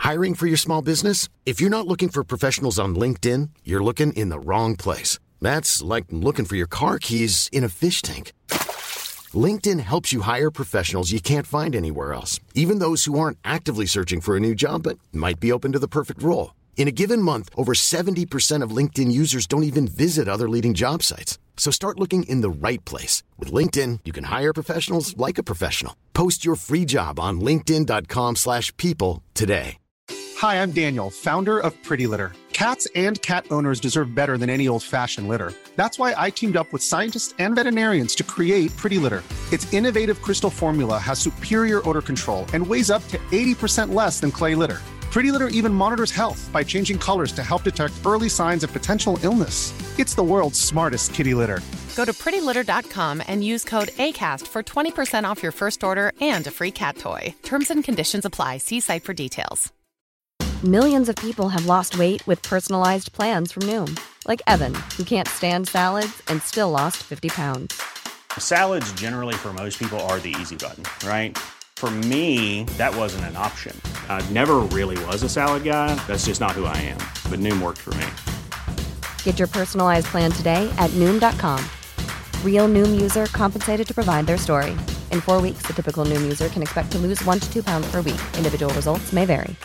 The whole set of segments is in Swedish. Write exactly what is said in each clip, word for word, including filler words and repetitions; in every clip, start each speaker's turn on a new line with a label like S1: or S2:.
S1: Hiring for your small business? If you're not looking for professionals on LinkedIn, you're looking in the wrong place. That's like looking for your car keys in a fish tank. LinkedIn helps you hire professionals you can't find anywhere else, even those who aren't actively searching for a new job but might be open to the perfect role. In a given month, over seventy percent of LinkedIn users don't even visit other leading job sites. So start looking in the right place. With LinkedIn, you can hire professionals like a professional. Post your free job on linkedin dot com slash people today.
S2: Hi, I'm Daniel, founder of Pretty Litter. Cats and cat owners deserve better than any old-fashioned litter. That's why I teamed up with scientists and veterinarians to create Pretty Litter. Its innovative crystal formula has superior odor control and weighs up to eighty percent less than clay litter. Pretty Litter even monitors health by changing colors to help detect early signs of potential illness. It's the world's smartest kitty litter.
S3: Go to pretty litter dot com and use code ACAST for twenty percent off your first order and a free cat toy. Terms and conditions apply. See site for details.
S4: Millions of people have lost weight with personalized plans from Noom. Like Evan, who can't stand salads and still lost fifty pounds.
S5: Salads generally for most people are the easy button, right? For me, that wasn't an option. I never really was a salad guy. That's just not who I am. But Noom worked for me.
S4: Get your personalized plan today at Noom dot com. Real Noom user compensated to provide their story. In four weeks, the typical Noom user can expect to lose one to two pounds per week. Individual results may vary.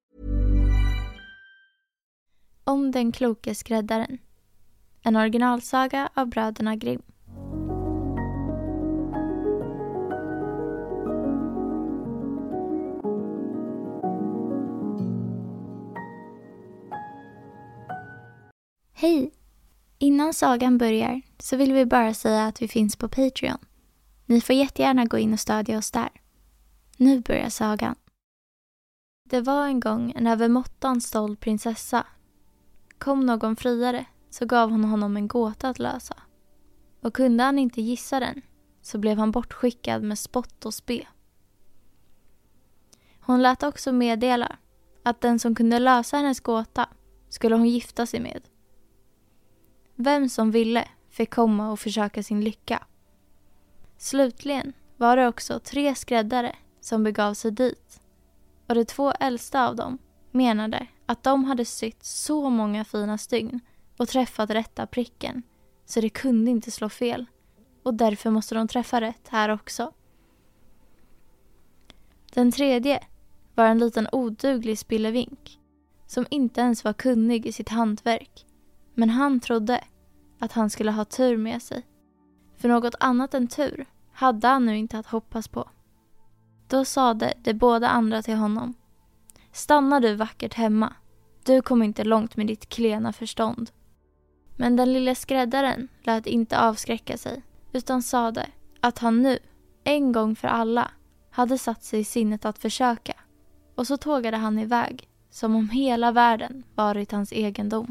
S6: Om den kloke skräddaren. En originalsaga av bröderna Grimm. Hej! Innan sagan börjar så vill vi bara säga att vi finns på Patreon. Ni får jättegärna gå in och stödja oss där. Nu börjar sagan. Det var en gång en övermåttan stolt prinsessa. Kom någon friare så gav hon honom en gåta att lösa. Och kunde han inte gissa den så blev han bortskickad med spott och spe. Hon lät också meddela att den som kunde lösa hennes gåta skulle hon gifta sig med. Vem som ville fick komma och försöka sin lycka. Slutligen var det också tre skräddare som begav sig dit. Och de två äldsta av dem menade att de hade sytt så många fina stygn och träffat rätta pricken så det kunde inte slå fel. Och därför måste de träffa rätt här också. Den tredje var en liten oduglig spillevink som inte ens var kunnig i sitt hantverk. Men han trodde att han skulle ha tur med sig. För något annat än tur hade han nu inte att hoppas på. Då sade de båda andra till honom: stanna du vackert hemma. Du kommer inte långt med ditt klena förstånd. Men den lilla skräddaren lät inte avskräcka sig, utan sade att han nu, en gång för alla, hade satt sig i sinnet att försöka. Och så tågade han iväg, som om hela världen varit hans egendom.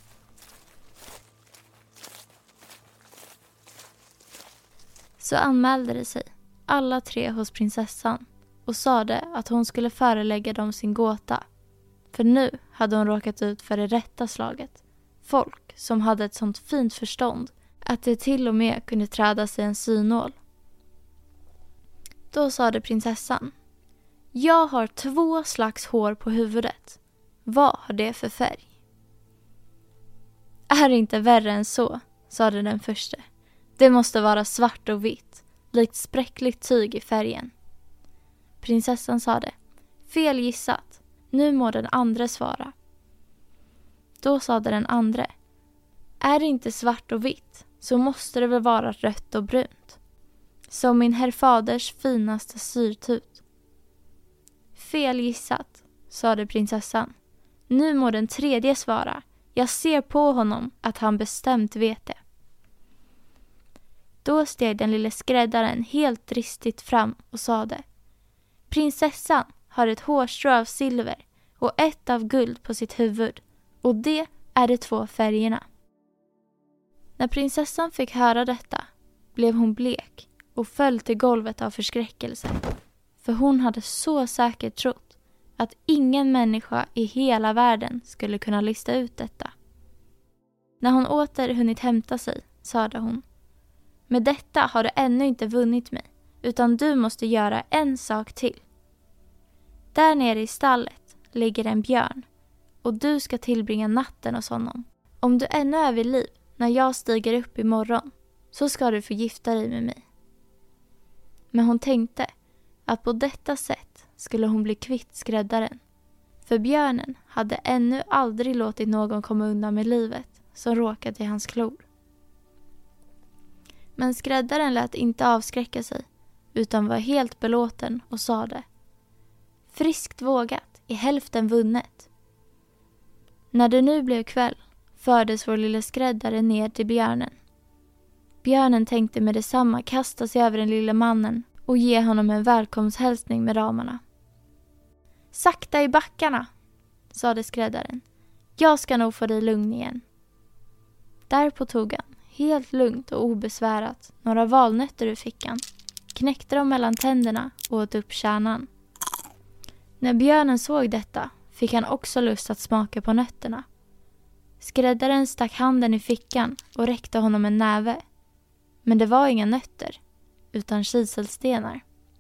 S6: Så anmälde de sig, alla tre hos prinsessan, och sade att hon skulle förelägga dem sin gåta. För nu hade hon råkat ut för det rätta slaget. Folk som hade ett sånt fint förstånd att det till och med kunde träda sig en synål. Då sade prinsessan: jag har två slags hår på huvudet. Vad har det för färg? Är det inte värre än så, sade den första. Det måste vara svart och vitt, likt spräckligt tyg i färgen. Prinsessan sade: fel gissat, nu må den andra svara. Då sade den andra: är det inte svart och vitt, så måste det väl vara rött och brunt. Som min herr faders finaste syrtut. Fel gissat, sade prinsessan. Nu må den tredje svara. Jag ser på honom att han bestämt vet det. Då steg den lille skräddaren helt dristigt fram och sade: prinsessan har ett hårstrå av silver och ett av guld på sitt huvud, och det är de två färgerna. När prinsessan fick höra detta blev hon blek och föll till golvet av förskräckelse, för hon hade så säkert trott att ingen människa i hela världen skulle kunna lista ut detta. När hon åter hunnit hämta sig, sade hon: med detta har du ännu inte vunnit mig, utan du måste göra en sak till. Där nere i stallet ligger en björn och du ska tillbringa natten hos honom. Om du ännu är vid liv när jag stiger upp imorgon så ska du få gifta dig med mig. Men hon tänkte att på detta sätt skulle hon bli kvitt skräddaren. För björnen hade ännu aldrig låtit någon komma undan med livet som råkat i hans klor. Men skräddaren lät inte avskräcka sig utan var helt belåten och sade: friskt vågat är hälften vunnet. När det nu blev kväll fördes vår lilla skräddare ner till björnen. Björnen tänkte med detsamma kasta sig över den lilla mannen och ge honom en välkomsthälsning med ramarna. Sakta i backarna, sade skräddaren. Jag ska nog få dig lugn igen. Därpå tog han, helt lugnt och obesvärat, några valnötter ur fickan, knäckte dem mellan tänderna och åt upp kärnan. När björnen såg detta fick han också lust att smaka på nötterna. Skräddaren stack handen i fickan och räckte honom en näve. Men det var inga nötter, utan kiselstenar.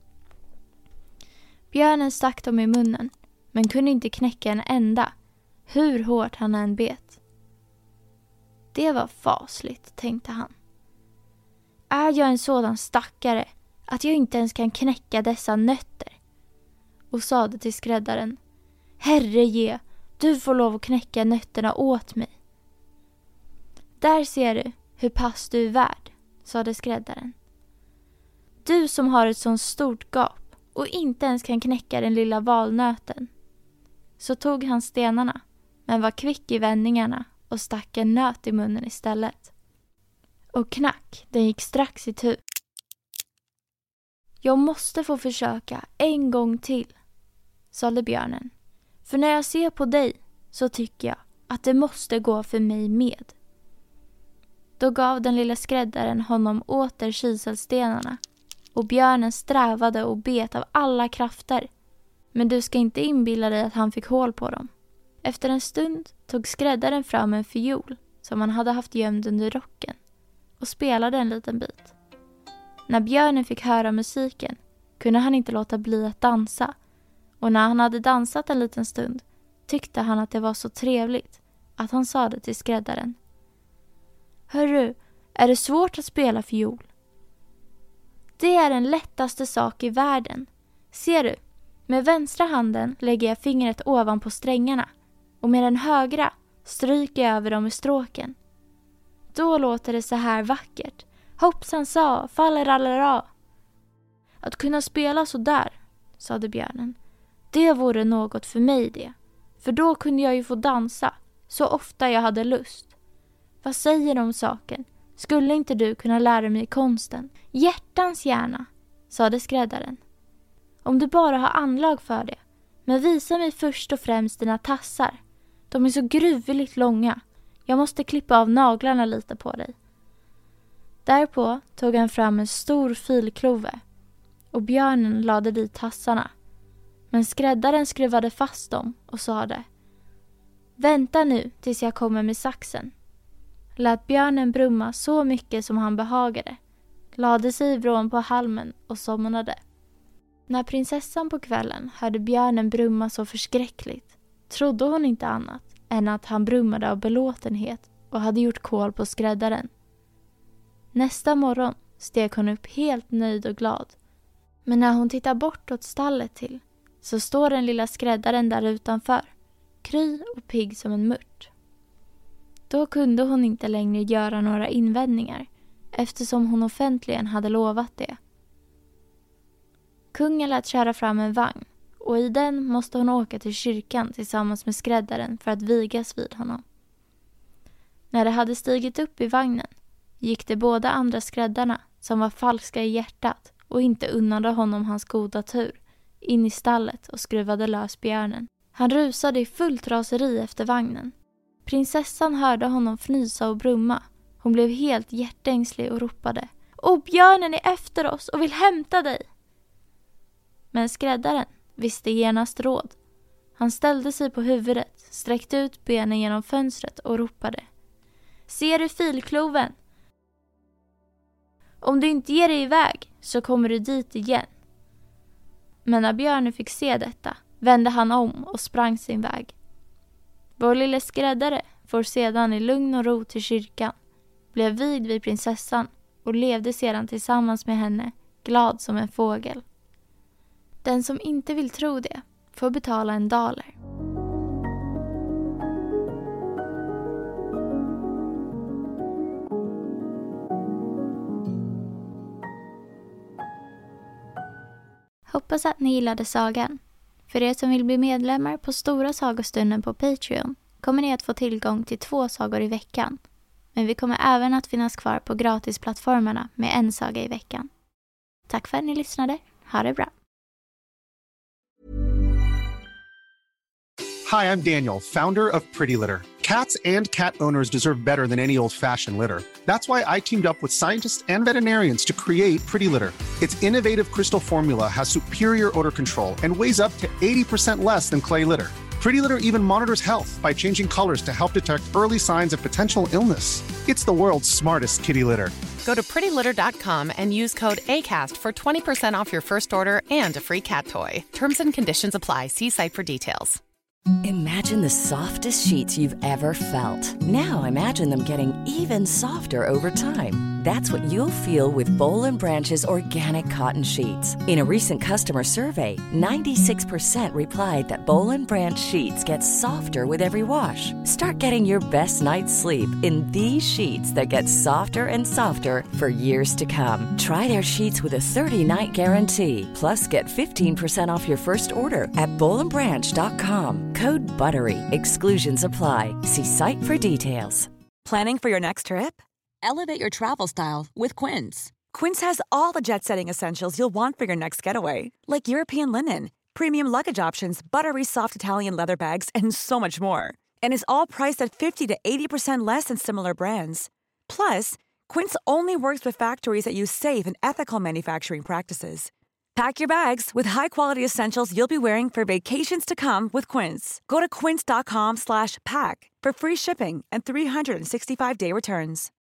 S6: Björnen stack dem i munnen, men kunde inte knäcka en enda, hur hårt han än bet. Det var fasligt, tänkte han. Är jag en sådan stackare att jag inte ens kan knäcka dessa nötter? Och sade till skräddaren: Herre ge, du får lov att knäcka nötterna åt mig. Där ser du hur pass du är värd, sade skräddaren. Du som har ett sånt stort gap och inte ens kan knäcka den lilla valnöten. Så tog han stenarna, men var kvick i vändningarna och stack en nöt i munnen istället. Och knack, den gick strax i tur. Jag måste få försöka en gång till, sade björnen. För när jag ser på dig så tycker jag att det måste gå för mig med. Då gav den lilla skräddaren honom åter kiselstenarna och björnen strävade och bet av alla krafter. Men du ska inte inbilla dig att han fick hål på dem. Efter en stund tog skräddaren fram en fiol som han hade haft gömd under rocken och spelade en liten bit. När björnen fick höra musiken kunde han inte låta bli att dansa, och när han hade dansat en liten stund tyckte han att det var så trevligt att han sa det till skräddaren. Hörru, är det svårt att spela fiol? Det är den lättaste sak i världen. Ser du, med vänstra handen lägger jag fingret ovanpå strängarna och med den högra stryker jag över dem i stråken. Då låter det så här vackert. Hoppsan sa, faller allra. Att kunna spela så där, sade björnen, det vore något för mig det. För då kunde jag ju få dansa så ofta jag hade lust. Vad säger du om saken? Skulle inte du kunna lära mig konsten? Hjärtans gärna, sade skräddaren. Om du bara har anlag för det. Men visa mig först och främst dina tassar. De är så gruvligt långa. Jag måste klippa av naglarna lite på dig. Därpå tog han fram en stor filklove och björnen lade dit tassarna. Men skräddaren skruvade fast dem och sade: Vänta nu tills jag kommer med saxen. Lät björnen brumma så mycket som han behagade, lade sig i vrån på halmen och somnade. När prinsessan på kvällen hörde björnen brumma så förskräckligt trodde hon inte annat än att han brummade av belåtenhet och hade gjort kål på skräddaren. Nästa morgon steg hon upp helt nöjd och glad. Men när hon tittar bort åt stallet till så står den lilla skräddaren där utanför, kry och pigg som en mört. Då kunde hon inte längre göra några invändningar eftersom hon offentligen hade lovat det. Kungen lät köra fram en vagn och i den måste hon åka till kyrkan tillsammans med skräddaren för att vigas vid honom. När de hade stigit upp i vagnen gick de båda andra skräddarna, som var falska i hjärtat och inte unnade honom hans goda tur, in i stallet och skruvade lös björnen. Han rusade i fullt raseri efter vagnen. Prinsessan hörde honom fnysa och brumma. Hon blev helt hjärtängslig och ropade: Åh, björnen är efter oss och vill hämta dig! Men skräddaren visste genast råd. Han ställde sig på huvudet, sträckte ut benen genom fönstret och ropade: Ser du filkloven? Om du inte ger dig iväg så kommer du dit igen. Men när björnen fick se detta vände han om och sprang sin väg. Vår lille skräddare får sedan i lugn och ro till kyrkan, blev vigd vid prinsessan och levde sedan tillsammans med henne, glad som en fågel. Den som inte vill tro det får betala en daler. Hoppas att ni gillade sagan. För er som vill bli medlemmar på Stora sagostunden på Patreon kommer ni att få tillgång till två sagor i veckan. Men vi kommer även att finnas kvar på gratisplattformarna med en saga i veckan. Tack för att ni lyssnade. Ha det bra.
S2: Hi, I'm Daniel, founder of Pretty Litter. Cats and cat owners deserve better than any old-fashioned litter. That's why I teamed up with scientists and veterinarians to create Pretty Litter. Its innovative crystal formula has superior odor control and weighs up to eighty percent less than clay litter. Pretty Litter even monitors health by changing colors to help detect early signs of potential illness. It's the world's smartest kitty litter.
S3: Go to pretty litter dot com and use code ACAST for twenty percent off your first order and a free cat toy. Terms and conditions apply. See site for details.
S7: Imagine the softest sheets you've ever felt. Now imagine them getting even softer over time. That's what you'll feel with Boll and Branch's organic cotton sheets. In a recent customer survey, ninety-six percent replied that Boll and Branch sheets get softer with every wash. Start getting your best night's sleep in these sheets that get softer and softer for years to come. Try their sheets with a thirty-night guarantee. Plus, get fifteen percent off your first order at boll and branch dot com. Code BUTTERY. Exclusions apply. See site for details.
S8: Planning for your next trip? Elevate your travel style with Quince. Quince has all the jet-setting essentials you'll want for your next getaway, like European linen, premium luggage options, buttery soft Italian leather bags, and so much more. And is all priced at fifty to eighty percent less than similar brands. Plus, Quince only works with factories that use safe and ethical manufacturing practices. Pack your bags with high-quality essentials you'll be wearing for vacations to come with Quince. Go to quince dot com slash pack for free shipping and three sixty-five day returns.